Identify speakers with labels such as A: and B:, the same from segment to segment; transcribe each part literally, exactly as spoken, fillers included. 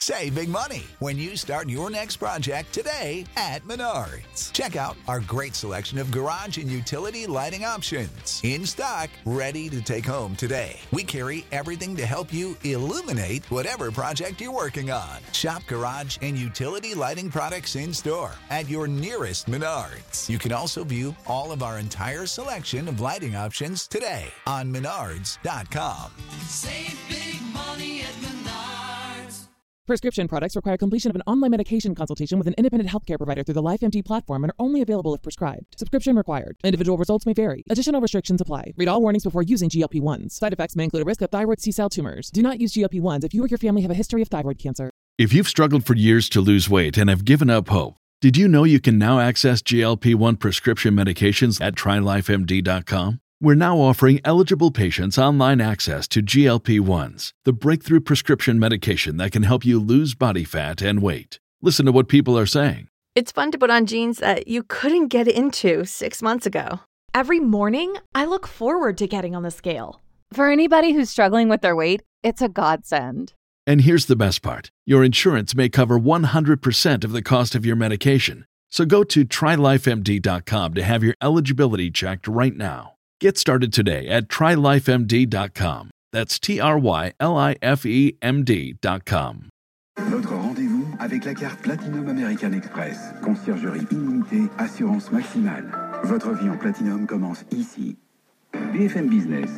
A: Save big money when you start your next project today at Menards. Check out our great selection of garage and utility lighting options. In stock, ready to take home today. We carry everything to help you illuminate whatever project you're working on. Shop garage and utility lighting products in store at your nearest Menards. You can also view all of our entire selection of lighting options today on menards dot com.
B: Save big money at Menards.
C: Prescription products require completion of an online medication consultation with an independent healthcare provider through the LifeMD platform and are only available if prescribed. Subscription required. Individual results may vary. Additional restrictions apply. Read all warnings before using G L P one s. Side effects may include a risk of thyroid C-cell tumors. Do not use G L P one s if you or your family have a history of thyroid cancer.
D: If you've struggled for years to lose weight and have given up hope, did you know you can now access G L P one prescription medications at try life M D dot com? We're now offering eligible patients online access to G L P one s, the breakthrough prescription medication that can help you lose body fat and weight. Listen to what people are saying.
E: It's fun to put on jeans that you couldn't get into six months ago.
F: Every morning, I look forward to getting on the scale.
G: For anybody who's struggling with their weight, it's a godsend.
D: And here's the best part. Your insurance may cover one hundred percent of the cost of your medication. So go to try life M D dot com to have your eligibility checked right now. Get started today at try life M D dot com. That's T R Y L I F E M D dot com.
H: Votre rendez-vous avec la carte Platinum American Express. Conciergerie illimitée, assurance maximale. Votre vie en Platinum commence ici. B F M Business.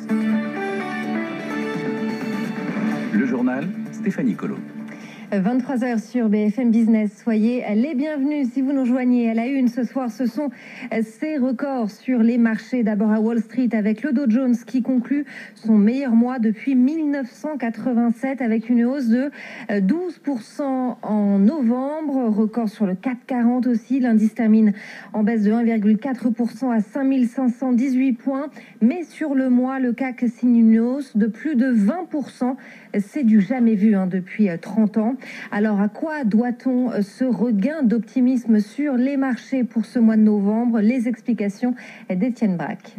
H: Le journal, Stéphanie Colo.
I: vingt-trois heures sur B F M Business. Soyez les bienvenus si vous nous rejoignez à la une ce soir. Ce sont ces records sur les marchés. D'abord à Wall Street avec le Dow Jones qui conclut son meilleur mois depuis mille neuf cent quatre-vingt-sept avec une hausse de douze pour cent en novembre. Record sur le C A C quarante aussi. L'indice termine en baisse de un virgule quatre pour cent à cinq mille cinq cent dix-huit points. Mais sur le mois, le C A C signe une hausse de plus de vingt pour cent. C'est du jamais vu hein, depuis trente ans. Alors, à quoi doit-on ce regain d'optimisme sur les marchés pour ce mois de novembre? Les explications d'Étienne Braque.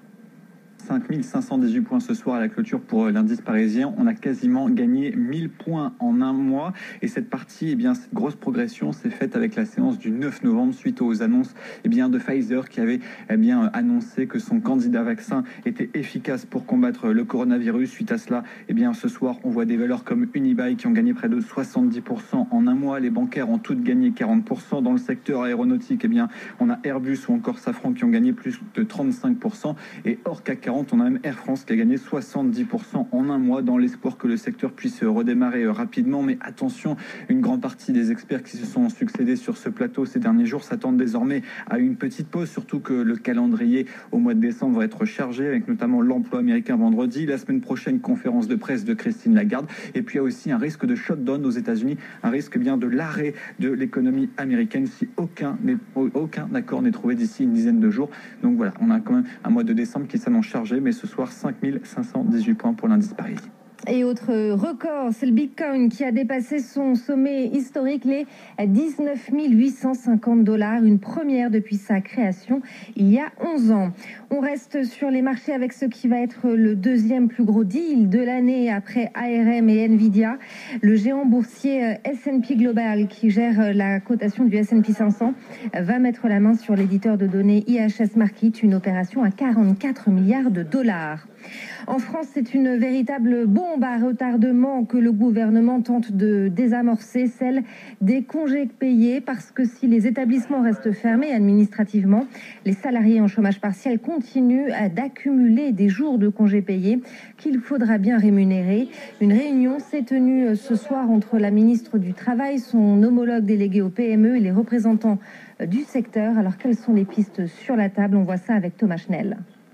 J: cinq mille cinq cent dix-huit points ce soir à la clôture pour l'indice parisien. On a quasiment gagné mille points en un mois. Et cette partie, eh bien, cette grosse progression s'est faite avec la séance du neuf novembre suite aux annonces eh bien, de Pfizer qui avait eh bien, annoncé que son candidat vaccin était efficace pour combattre le coronavirus. Suite à cela, eh bien, ce soir, on voit des valeurs comme Unibail qui ont gagné près de soixante-dix pour cent en un mois. Les bancaires ont toutes gagné quarante pour cent. Dans le secteur aéronautique, eh bien, on a Airbus ou encore Safran qui ont gagné plus de trente-cinq pour cent. Et hors C A C quarante, on a même Air France qui a gagné soixante-dix pour cent en un mois dans l'espoir que le secteur puisse redémarrer rapidement. Mais attention, une grande partie des experts qui se sont succédés sur ce plateau ces derniers jours s'attendent désormais à une petite pause, surtout que le calendrier au mois de décembre va être chargé avec notamment l'emploi américain vendredi, la semaine prochaine conférence de presse de Christine Lagarde et puis il y a aussi un risque de shutdown aux États-Unis, un risque bien de l'arrêt de l'économie américaine si aucun, aucun accord n'est trouvé d'ici une dizaine de jours. Donc voilà, on a quand même un mois de décembre qui s'annonce chargé, mais ce soir cinq mille cinq cent dix-huit points pour l'indice Paris.
I: Et autre record, c'est le Bitcoin qui a dépassé son sommet historique, les dix-neuf mille huit cent cinquante dollars, une première depuis sa création il y a onze ans. On reste sur les marchés avec ce qui va être le deuxième plus gros deal de l'année après A R M et Nvidia. Le géant boursier S and P Global qui gère la cotation du S and P cinq cents va mettre la main sur l'éditeur de données I H S Markit, une opération à quarante-quatre milliards de dollars. En France, c'est une véritable bombe à retardement que le gouvernement tente de désamorcer, celle des congés payés, parce que si les établissements restent fermés administrativement, les salariés en chômage partiel continuent d'accumuler des jours de congés payés qu'il faudra bien rémunérer. Une réunion s'est tenue ce soir entre la ministre du Travail, son homologue délégué au P M E et les représentants du secteur. Alors, quelles sont les pistes sur la table? On voit ça avec Thomas Schnell.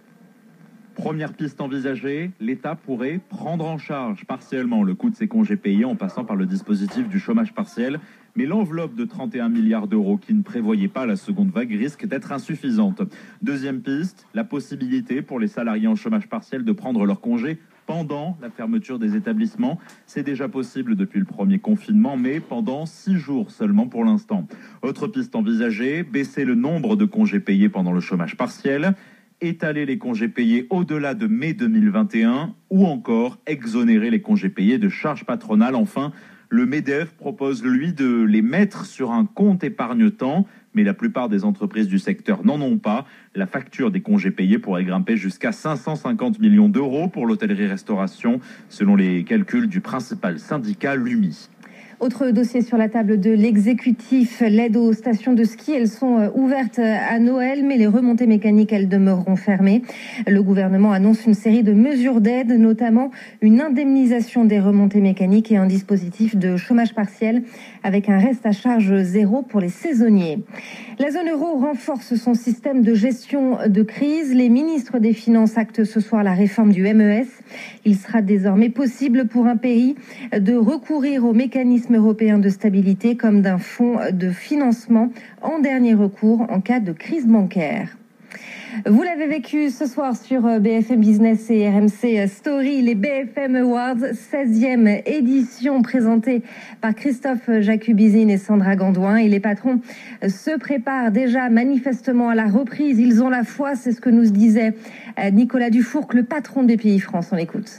K: Première piste envisagée, l'État pourrait prendre en charge partiellement le coût de ses congés payés en passant par le dispositif du chômage partiel. Mais l'enveloppe de trente et un milliards d'euros qui ne prévoyait pas la seconde vague risque d'être insuffisante. Deuxième piste, la possibilité pour les salariés en chômage partiel de prendre leurs congés pendant la fermeture des établissements. C'est déjà possible depuis le premier confinement, mais pendant six jours seulement pour l'instant. Autre piste envisagée, baisser le nombre de congés payés pendant le chômage partiel, étaler les congés payés au-delà de mai deux mille vingt et un ou encore exonérer les congés payés de charges patronales. Enfin, Le MEDEF propose, lui, de les mettre sur un compte épargne-temps, mais la plupart des entreprises du secteur n'en ont pas. La facture des congés payés pourrait grimper jusqu'à cinq cent cinquante millions d'euros pour l'hôtellerie-restauration, selon les calculs du principal syndicat, l'U M I.
I: Autre dossier sur la table de l'exécutif, l'aide aux stations de ski. Elles sont ouvertes à Noël, mais les remontées mécaniques, elles demeureront fermées. Le gouvernement annonce une série de mesures d'aide, notamment une indemnisation des remontées mécaniques et un dispositif de chômage partiel avec un reste à charge zéro pour les saisonniers. La zone euro renforce son système de gestion de crise. Les ministres des Finances actent ce soir la réforme du M E S. Il sera désormais possible pour un pays de recourir au mécanisme européen de stabilité comme d'un fonds de financement en dernier recours en cas de crise bancaire. Vous l'avez vécu ce soir sur B F M Business et R M C Story, les B F M Awards, seizième édition présentée par Christophe Jacubizine et Sandra Gandouin. Et les patrons se préparent déjà manifestement à la reprise. Ils ont la foi, c'est ce que nous disait Nicolas Dufourcq, le patron des B P I France. On l'écoute.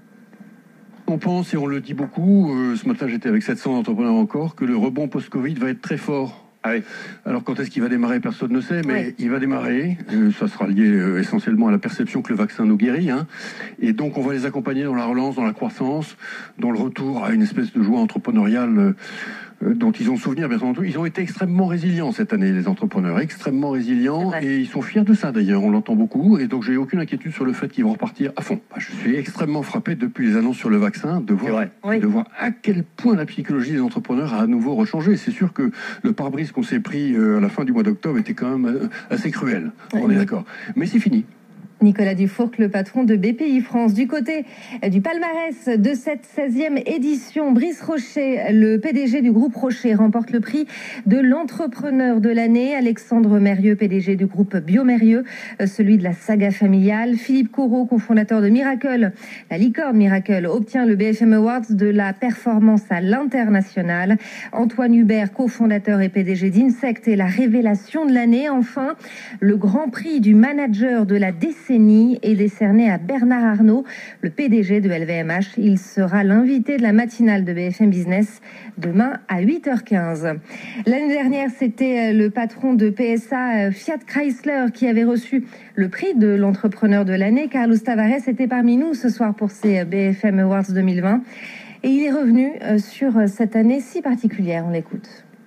L: On pense, et on le dit beaucoup, euh, ce matin j'étais avec sept cents entrepreneurs encore, que le rebond post-Covid va être très fort. Ah oui. Alors quand est-ce qu'il va démarrer, personne ne sait, mais ouais. il va démarrer. Euh, ça sera lié euh, essentiellement à la perception que le vaccin nous guérit. Hein. Et donc on va les accompagner dans la relance, dans la croissance, dans le retour à une espèce de joie entrepreneuriale euh, euh, dont ils ont souvenir, bien entendu. Ils ont été extrêmement résilients cette année, les entrepreneurs, extrêmement résilients, et ils sont fiers de ça d'ailleurs, on l'entend beaucoup. Et donc j'ai aucune inquiétude sur le fait qu'ils vont repartir à fond. Bah, je suis extrêmement frappé depuis les annonces sur le vaccin de voir, oui. de voir à quel point la psychologie des entrepreneurs a à nouveau rechangé. C'est sûr que le pare-brise qu'on s'est pris à la fin du mois d'octobre était quand même assez cruel, oui. on est d'accord. Mais c'est fini.
I: Nicolas Dufourcq, le patron de B P I France. Du côté du palmarès de cette seizième édition, Brice Rocher, le P D G du groupe Rocher, remporte le prix de l'entrepreneur de l'année. Alexandre Mérieux, P D G du groupe Biomérieux, celui de la saga familiale. Philippe Corot, cofondateur de Miracle, la licorne Miracle, obtient le B F M Awards de la performance à l'international. Antoine Hubert, cofondateur et P D G d'Insect, est la révélation de l'année. Enfin, le grand prix du manager de la décennie est décerné à Bernard Arnault, le P D G de L V M H. Il sera l'invité de la matinale de B F M Business demain à huit heures quinze. L'année dernière, c'était le patron de P S A Fiat Chrysler qui avait reçu le prix de l'entrepreneur de l'année. Carlos Tavares était parmi nous ce soir pour ces B F M Awards deux mille vingt. Et il est revenu sur cette année si particulière. On l'écoute.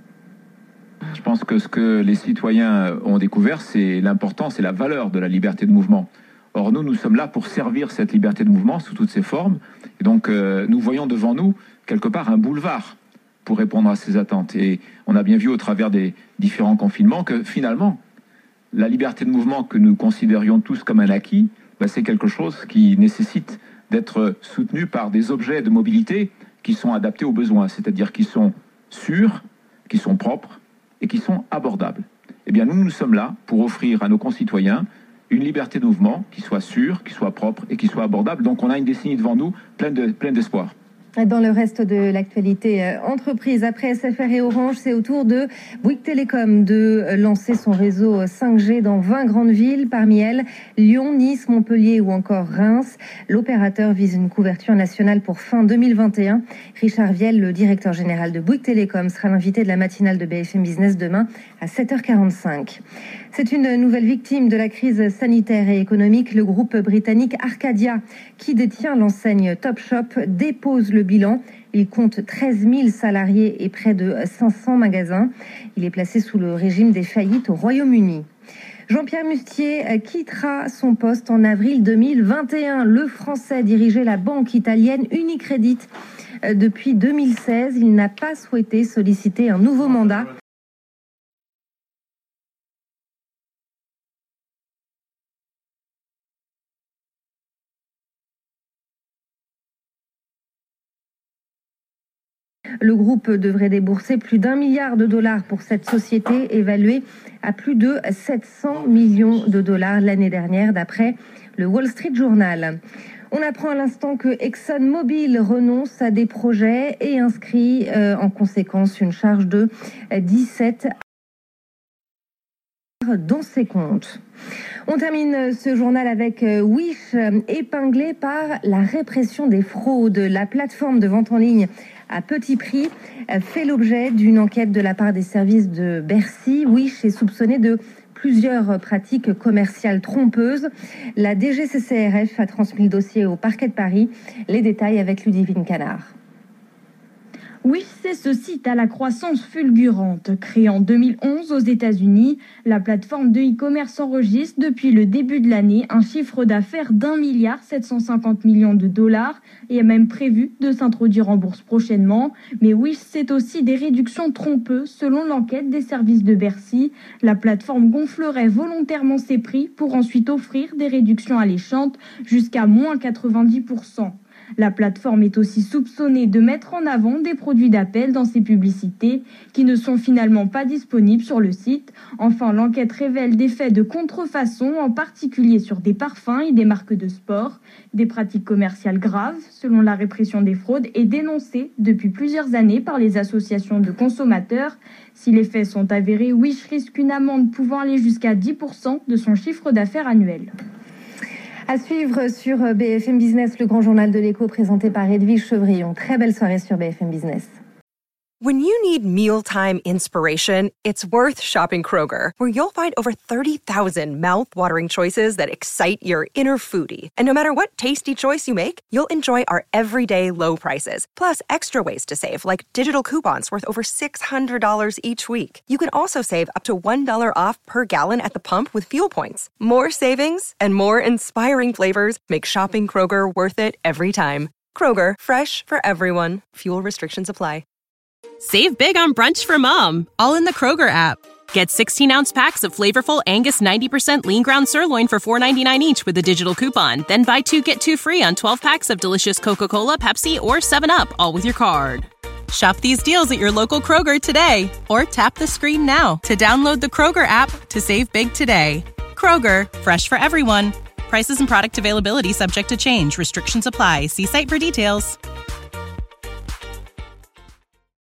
M: Je pense que ce que les citoyens ont découvert, c'est l'importance et la valeur de la liberté de mouvement. Or, nous, nous sommes là pour servir cette liberté de mouvement sous toutes ses formes. Et donc, euh, nous voyons devant nous, quelque part, un boulevard pour répondre à ces attentes. Et on a bien vu au travers des différents confinements que, finalement, la liberté de mouvement que nous considérions tous comme un acquis, bah, c'est quelque chose qui nécessite d'être soutenu par des objets de mobilité qui sont adaptés aux besoins, c'est-à-dire qui sont sûrs, qui sont propres, et qui sont abordables. Eh bien, nous, nous sommes là pour offrir à nos concitoyens une liberté de mouvement qui soit sûre, qui soit propre et qui soit abordable. Donc, on a une décennie devant nous pleine de, pleine d'espoir.
I: Dans le reste de l'actualité euh, entreprise, après S F R et Orange, c'est au tour de Bouygues Télécom de lancer son réseau cinq G dans vingt grandes villes, parmi elles Lyon, Nice, Montpellier ou encore Reims. L'opérateur vise une couverture nationale pour fin deux mille vingt et un. Richard Viel, le directeur général de Bouygues Télécom, sera l'invité de la matinale de B F M Business demain à sept heures quarante-cinq. C'est une nouvelle victime de la crise sanitaire et économique. Le groupe britannique Arcadia, qui détient l'enseigne Topshop, dépose le bilan. Il compte treize mille salariés et près de cinq cents magasins. Il est placé sous le régime des faillites au Royaume-Uni. Jean-Pierre Mustier quittera son poste en avril deux mille vingt et un. Le Français dirigeait la banque italienne Unicredit depuis deux mille seize. Il n'a pas souhaité solliciter un nouveau mandat. Le groupe devrait débourser plus d'un milliard de dollars pour cette société évaluée à plus de sept cents millions de dollars l'année dernière, d'après le Wall Street Journal. On apprend à l'instant que ExxonMobil renonce à des projets et inscrit euh, en conséquence une charge de dix-sept dans ses comptes. On termine ce journal avec Wish, épinglé par la répression des fraudes. La plateforme de vente en ligne à petit prix fait l'objet d'une enquête de la part des services de Bercy. Wish est soupçonné de plusieurs pratiques commerciales trompeuses. La D G C C R F a transmis le dossier au parquet de Paris. Les détails avec Ludivine Canard.
N: Wish, c'est ce site à la croissance fulgurante. Créé en deux mille onze aux États-Unis, la plateforme de e-commerce enregistre depuis le début de l'année un chiffre d'affaires d'un milliard sept cent cinquante millions de dollars et a même prévu de s'introduire en bourse prochainement. Mais Wish, c'est aussi des réductions trompeuses. Selon l'enquête des services de Bercy, la plateforme gonflerait volontairement ses prix pour ensuite offrir des réductions alléchantes jusqu'à moins quatre-vingt-dix pour cent. La plateforme est aussi soupçonnée de mettre en avant des produits d'appel dans ses publicités qui ne sont finalement pas disponibles sur le site. Enfin, l'enquête révèle des faits de contrefaçon, en particulier sur des parfums et des marques de sport. Des pratiques commerciales graves, selon la répression des fraudes, et dénoncées depuis plusieurs années par les associations de consommateurs. Si les faits sont avérés, Wish risque une amende pouvant aller jusqu'à dix pour cent de son chiffre d'affaires annuel.
I: À suivre sur B F M Business, le grand journal de l'écho présenté par Edwige Chevrillon. Très belle soirée sur B F M Business.
O: When you need mealtime inspiration, it's worth shopping Kroger, where you'll find over thirty thousand mouth-watering choices that excite your inner foodie. And no matter what tasty choice you make, you'll enjoy our everyday low prices, plus extra ways to save, like digital coupons worth over six hundred dollars each week. You can also save up to one dollar off per gallon at the pump with fuel points. More savings and more inspiring flavors make shopping Kroger worth it every time. Kroger, fresh for everyone. Fuel restrictions apply.
P: Save big on brunch for mom, all in the Kroger app. Get sixteen-ounce packs of flavorful Angus ninety percent lean ground sirloin for four ninety-nine each with a digital coupon. Then buy two, get two free on twelve packs of delicious Coca-Cola, Pepsi, or seven up, all with your card. Shop these deals at your local Kroger today, or tap the screen now to download the Kroger app to save big today. Kroger, fresh for everyone. Prices and product availability subject to change. Restrictions apply. See site for details.